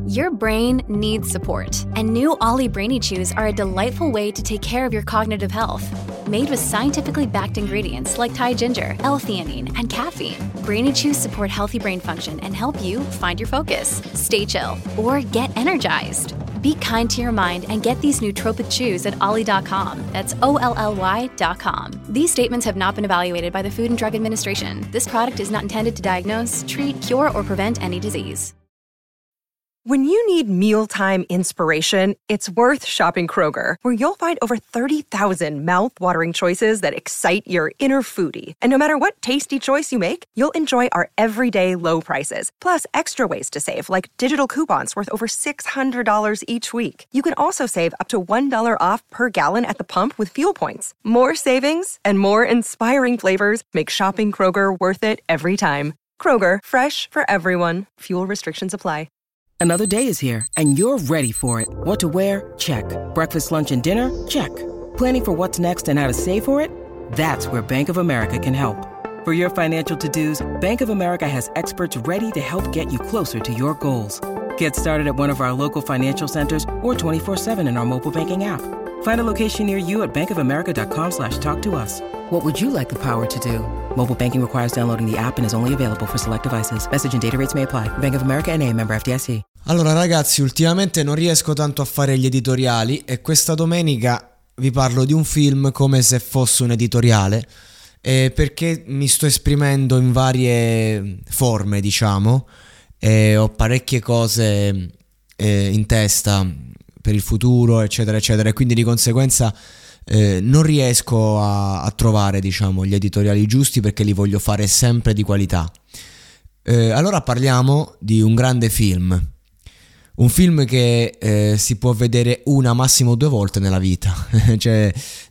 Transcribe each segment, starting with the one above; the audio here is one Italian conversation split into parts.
Your brain needs support, and new Ollie Brainy Chews are a delightful way to take care of your cognitive health. Made with scientifically backed ingredients like Thai ginger, L-theanine, and caffeine, Brainy Chews support healthy brain function and help you find your focus, stay chill, or get energized. Be kind to your mind and get these nootropic chews at ollie.com. That's OLLY.com. These statements have not been evaluated by the Food and Drug Administration. This product is not intended to diagnose, treat, cure, or prevent any disease. When you need mealtime inspiration, it's worth shopping Kroger, where you'll find over 30,000 mouth-watering choices that excite your inner foodie. And no matter what tasty choice you make, you'll enjoy our everyday low prices, plus extra ways to save, like digital coupons worth over $600 each week. You can also save up to $1 off per gallon at the pump with fuel points. More savings and more inspiring flavors make shopping Kroger worth it every time. Kroger, fresh for everyone. Fuel restrictions apply. Another day is here, and you're ready for it. What to wear? Check. Breakfast, lunch, and dinner? Check. Planning for what's next and how to save for it? That's where Bank of America can help. For your financial to-dos, Bank of America has experts ready to help get you closer to your goals. Get started at one of our local financial centers or 24/7 in our mobile banking app. Find a location near you at bankofamerica.com/talktous. What would you like the power to do? Mobile banking requires downloading the app and is only available for select devices. Message and data rates may apply. Bank of America N.A., member FDIC. Allora ragazzi, ultimamente non riesco tanto a fare gli editoriali e questa domenica vi parlo di un film come se fosse un editoriale, perché mi sto esprimendo in varie forme, diciamo, e ho parecchie cose in testa per il futuro, eccetera eccetera, e quindi di conseguenza non riesco a trovare, diciamo, gli editoriali giusti, perché li voglio fare sempre di qualità. Allora parliamo di un grande film, un film che si può vedere una, massimo 2 volte nella vita. Cioè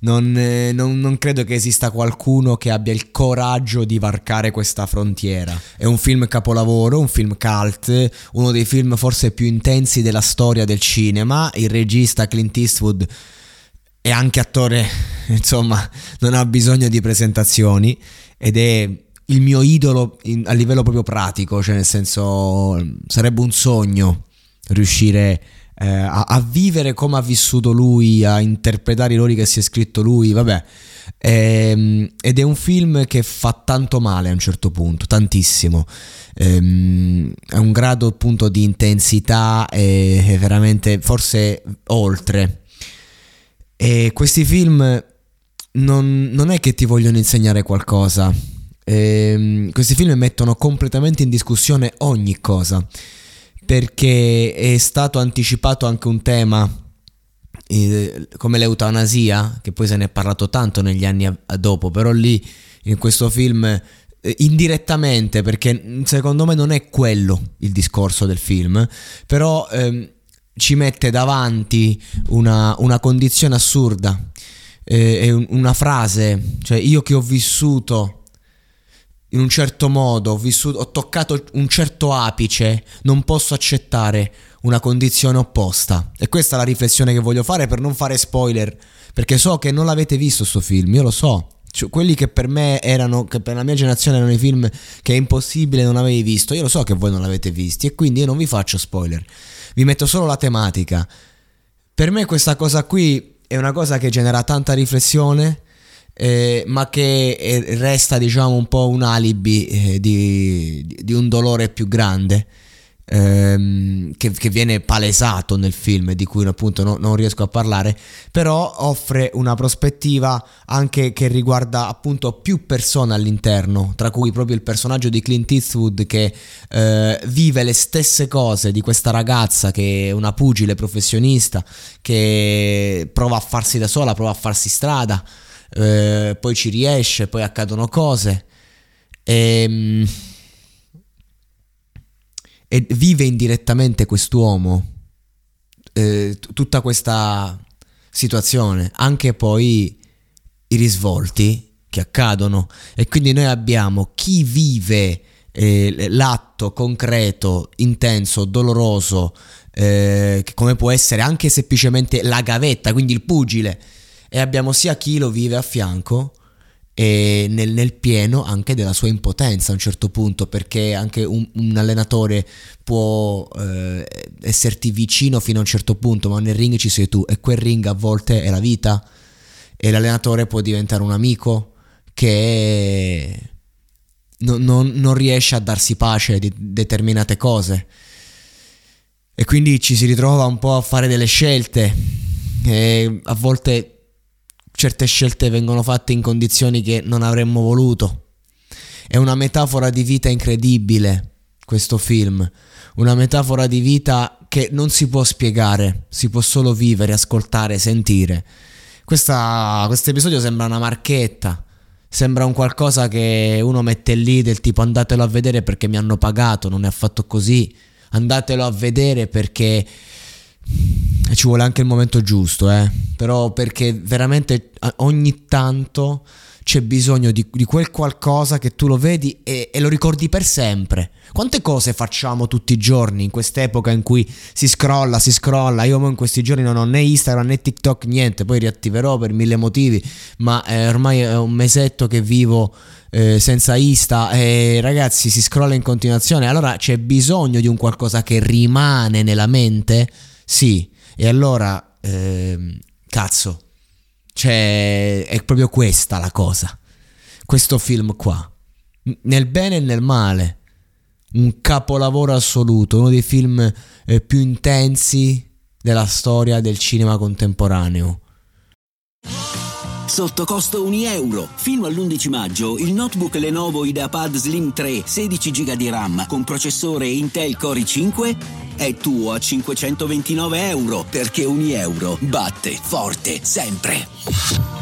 non credo che esista qualcuno che abbia il coraggio di varcare questa frontiera. È un film capolavoro, un film cult, uno dei film forse più intensi della storia del cinema. Il regista Clint Eastwood è anche attore, insomma, non ha bisogno di presentazioni, ed è il mio idolo a livello proprio pratico, cioè nel senso sarebbe un sogno riuscire a vivere come ha vissuto lui, a interpretare i ruoli che si è scritto lui, vabbè. Ed è un film che fa tanto male a un certo punto, tantissimo. È un grado appunto di intensità e veramente forse oltre. E questi film non è che ti vogliono insegnare qualcosa, questi film mettono completamente in discussione ogni cosa, perché è stato anticipato anche un tema come l'eutanasia, che poi se ne è parlato tanto negli anni dopo, però lì in questo film indirettamente, perché secondo me non è quello il discorso del film, però ci mette davanti una condizione assurda, una frase, cioè io che ho vissuto in un certo modo, ho toccato un certo apice, non posso accettare una condizione opposta. E questa è la riflessione che voglio fare, per non fare spoiler, perché so che non l'avete visto sto film, io lo so. Cioè, quelli che per me erano, che per la mia generazione erano i film che è impossibile non avevi visto, io lo so che voi non l'avete visti, e quindi io non vi faccio spoiler, vi metto solo la tematica. Per me questa cosa qui è una cosa che genera tanta riflessione, ma che resta, diciamo, un po' un alibi di un dolore più grande, che viene palesato nel film, di cui appunto non riesco a parlare, però offre una prospettiva anche che riguarda appunto più persone all'interno, tra cui proprio il personaggio di Clint Eastwood, che vive le stesse cose di questa ragazza che è una pugile professionista, che prova a farsi da sola, prova a farsi strada, poi ci riesce, poi accadono cose, e vive indirettamente quest'uomo tutta questa situazione, anche poi i risvolti che accadono. E quindi noi abbiamo chi vive l'atto concreto, intenso, doloroso, come può essere anche semplicemente la gavetta, quindi il pugile, e abbiamo sia chi lo vive a fianco e nel pieno anche della sua impotenza a un certo punto, perché anche un allenatore può esserti vicino fino a un certo punto, ma nel ring ci sei tu, e quel ring a volte è la vita, e l'allenatore può diventare un amico che non riesce a darsi pace di determinate cose, e quindi ci si ritrova un po' a fare delle scelte, e a volte certe scelte vengono fatte in condizioni che non avremmo voluto. È una metafora di vita incredibile questo film, una metafora di vita che non si può spiegare, si può solo vivere, ascoltare, sentire. Questo episodio sembra una marchetta, sembra un qualcosa che uno mette lì del tipo andatelo a vedere perché mi hanno pagato, non è affatto così, andatelo a vedere perché ci vuole anche il momento giusto, però perché veramente ogni tanto c'è bisogno di quel qualcosa che tu lo vedi e lo ricordi per sempre. Quante cose facciamo tutti i giorni in quest'epoca in cui si scrolla, io in questi giorni non ho né Instagram né TikTok, niente, poi riattiverò per 1000 motivi, ma ormai è un mesetto che vivo senza Insta, e ragazzi si scrolla in continuazione, allora c'è bisogno di un qualcosa che rimane nella mente, sì, e allora cazzo, cioè è proprio questa la cosa, questo film qua, nel bene e nel male, un capolavoro assoluto, uno dei film più intensi della storia del cinema contemporaneo. Sotto costo €1. Fino all'11 maggio il notebook Lenovo IdeaPad Slim 3 16 GB di RAM con processore Intel Core i5 è tuo a €529, perché €1 batte forte sempre.